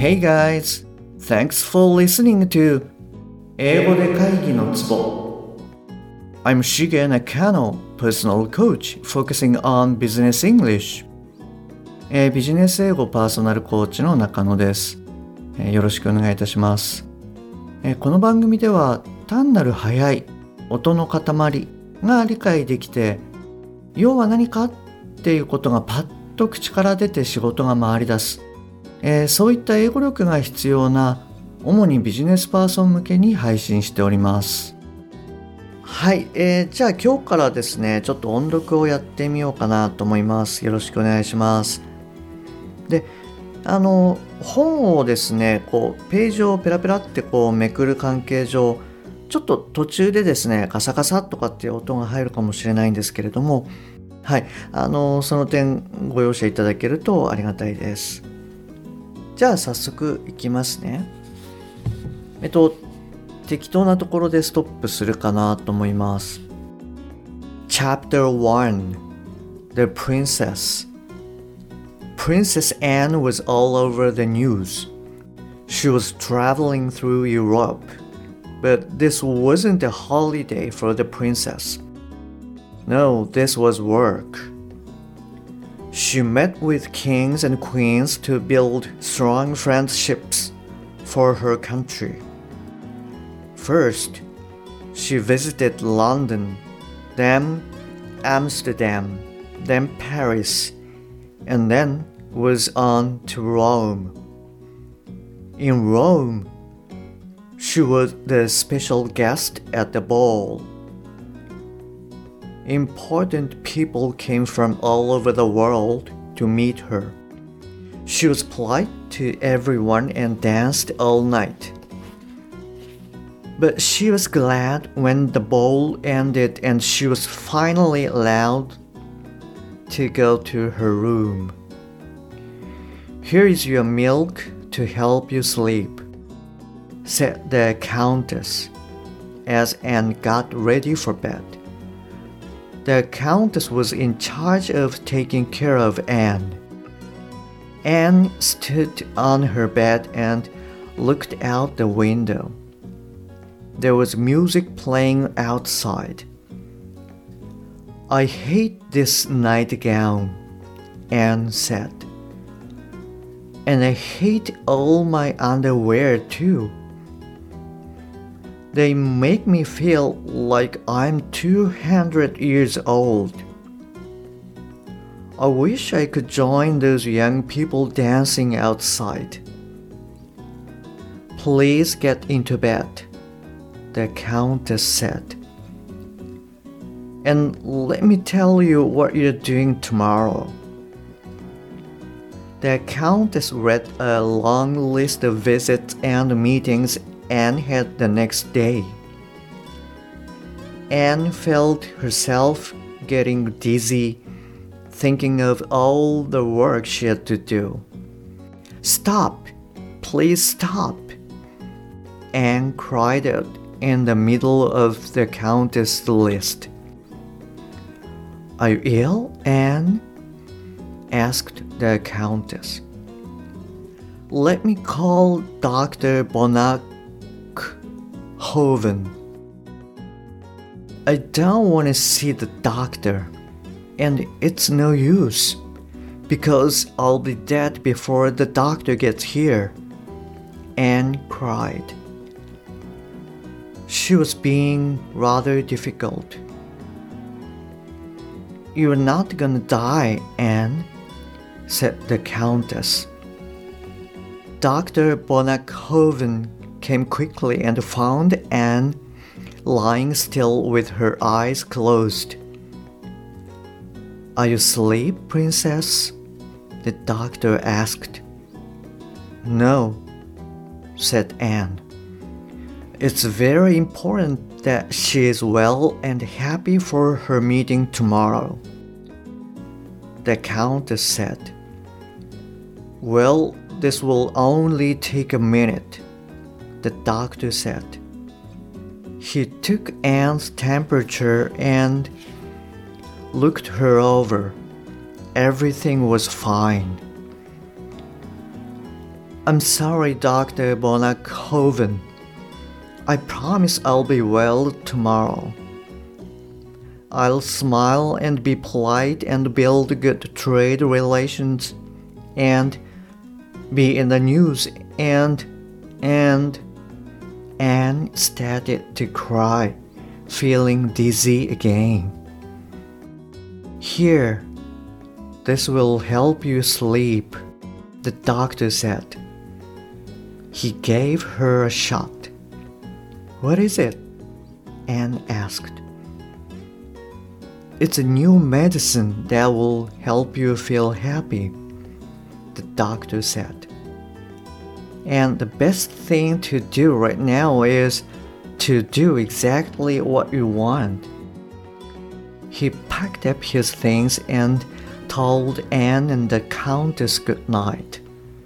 Hey guys, thanks for listening to 英語で会議のツボ I'm Shige Nakano, personal coach focusing on business English、ビジネス英語パーソナルコーチの中野です、よろしくお願いいたします、この番組では単なる速い音の塊が理解できて、要は何かっていうことがパッと口から出て仕事が回り出す、そういった英語力が必要な主にビジネスパーソン向けに配信しております。はい、じゃあ今日からですね、ちょっと音読をやってみようかなと思います。よろしくお願いします。で、本をですね、ページをペラペラってめくる関係上、ちょっと途中でですね、カサカサとかっていう音が入るかもしれないんですけれども、はい、その点ご容赦いただけるとありがたいです。じゃあ早速いきますね。適当なところでストップするかなと思います。Chapter 1 The Princess Princess Anne was all over the news. She was traveling through Europe, but this wasn't a holiday for the princess. No, this was work. She met with kings and queens to build strong friendships for her country. First, she visited London, then Amsterdam, then Paris, and then was on to Rome. In Rome, she was the special guest at the ball.Important people came from all over the world to meet her. She was polite to everyone and danced all night. But she was glad when the ball ended and she was finally allowed to go to her room. Here is your milk to help you sleep, said the countess as Anne got ready for bed.The Countess was in charge of taking care of Anne. Anne stood on her bed and looked out the window. There was music playing outside. I hate this nightgown, Anne said. And I hate all my underwear too.They make me feel like I'm 200 years old. I wish I could join those young people dancing outside. Please get into bed, the Countess said. And let me tell you what you're doing tomorrow. The Countess read a long list of visits and meetings.Anne had the next day. Anne felt herself getting dizzy, thinking of all the work she had to do. Stop! Please stop! Anne cried out in the middle of the Countess' list. Are you ill, Anne? asked the Countess. Let me call Dr. Bonhoven. I don't want to see the doctor, and it's no use, because I'll be dead before the doctor gets here, Anne cried. She was being rather difficult. You're not gonna die, Anne, said the Countess. Dr. Bonhoven came quickly and found Anne lying still with her eyes closed. Are you asleep, Princess? The doctor asked. No, said Anne. It's very important that she is well and happy for her meeting tomorrow. The Countess said. Well, this will only take a minute, the doctor said. He took Anne's temperature and looked her over. Everything was fine. I'm sorry, Dr. Bonakhoven. I promise I'll be well tomorrow. I'll smile and be polite and build good trade relations and be in the news and Anne started to cry, feeling dizzy again. Here, this will help you sleep, the doctor said. He gave her a shot. What is it? Anne asked. It's a new medicine that will help you feel happy, the doctor said. And the best thing to do right now is to do exactly what you want. He packed up his things and told Anne and the Countess good night.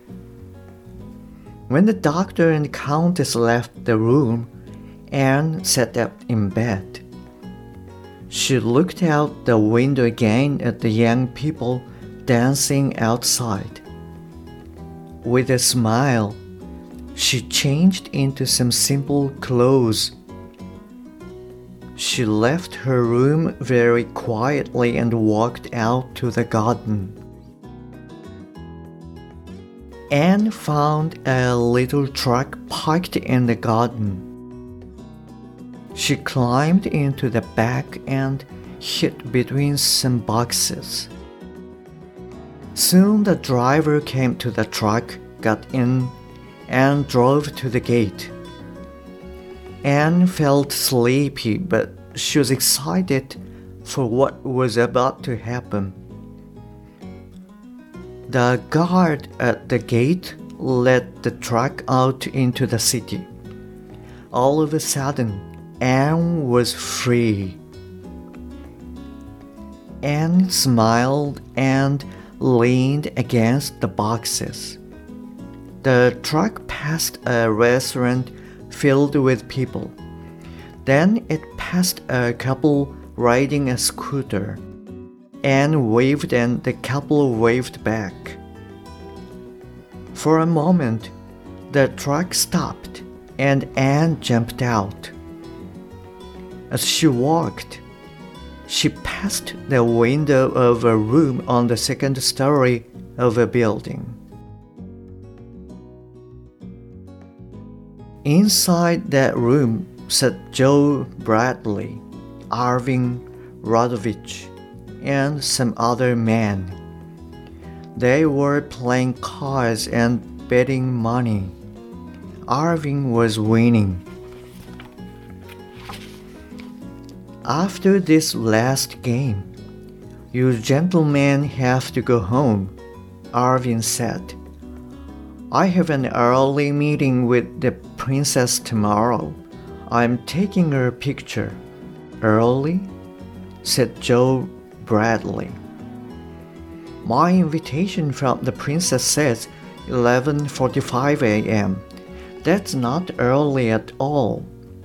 When the doctor and Countess left the room, Anne sat up in bed. She looked out the window again at the young people dancing outside. With a smile, she changed into some simple clothes. She left her room very quietly and walked out to the garden. Anne found a little truck parked in the garden. She climbed into the back and hid between some boxes. Soon the driver came to the truck, got in, and drove to the gate. Anne felt sleepy, but she was excited for what was about to happen. The guard at the gate led the truck out into the city. All of a sudden, Anne was free. Anne smiled and leaned against the boxes. The truck passed a restaurant filled with people. Then it passed a couple riding a scooter. Anne waved and the couple waved back. For a moment, the truck stopped and Anne jumped out. As she walked, she passed the window of a room on the second story of a building. Inside that room sat Joe Bradley, Arvin Radovich, and some other men. They were playing cards and betting money. Arvin was winning. After this last game, you gentlemen have to go home, Arvin said. I have an early meeting with the princess tomorrow. I'm taking her picture. Early? Said Joe Bradley. My invitation from the princess says 11:45 a.m. That's not early at all.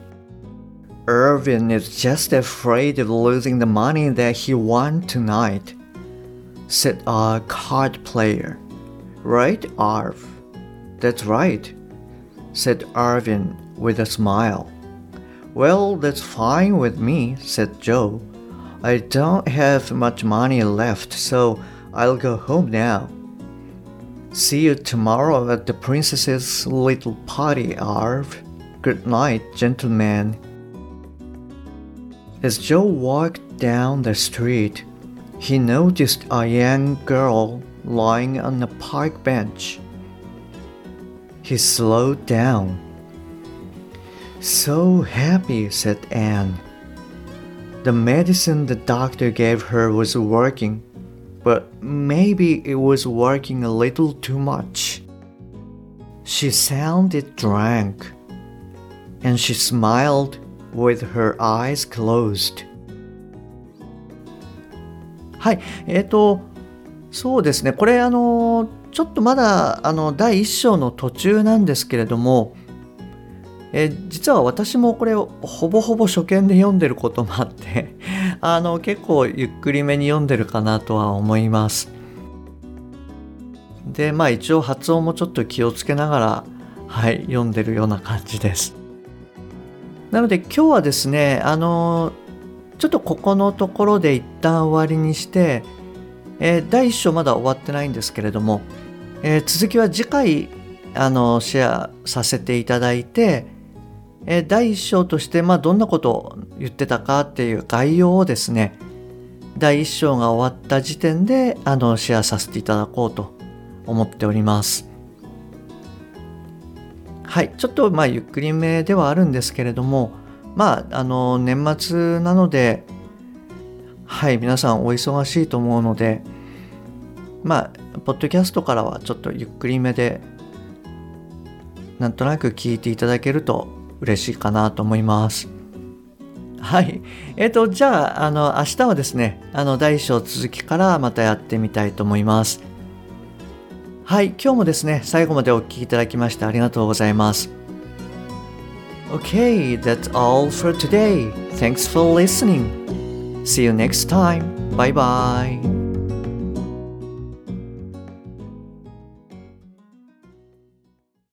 Irvin is just afraid of losing the money that he won tonight, said a card player. Right, Arv? That's right, said Arvin with a smile. Well, that's fine with me, said Joe. I don't have much money left, so I'll go home now. See you tomorrow at the princess's little party, Arv. Good night, gentlemen. As Joe walked down the street, he noticed a young girl lying on a park bench. He slowed down. So happy, said Anne. The medicine the doctor gave her was working, but maybe it was working a little too much. She sounded drunk, and she smiled with her eyes closed. はい、そうですね。これちょっとまだ第1章の途中なんですけれども、実は私もこれをほぼほぼ初見で読んでることもあって結構ゆっくりめに読んでるかなとは思います。 で、一応発音もちょっと気をつけながら、読んでるような感じです。なので今日はですね、ちょっとここのところで一旦終わりにして、第1章まだ終わってないんですけれども、続きは次回シェアさせていただいて、第1章としてどんなことを言ってたかっていう概要をですね、第1章が終わった時点でシェアさせていただこうと思っております。ちょっとゆっくりめではあるんですけれども、年末なので、皆さんお忙しいと思うので、ポッドキャストからはちょっとゆっくりめで、なんとなく聞いていただけると嬉しいかなと思います。じゃあ、明日はですね、第1章続きからまたやってみたいと思います。今日もですね、最後までお聞きいただきましてありがとうございます。Okay, that's all for today. Thanks for listening. See you next time. Bye bye.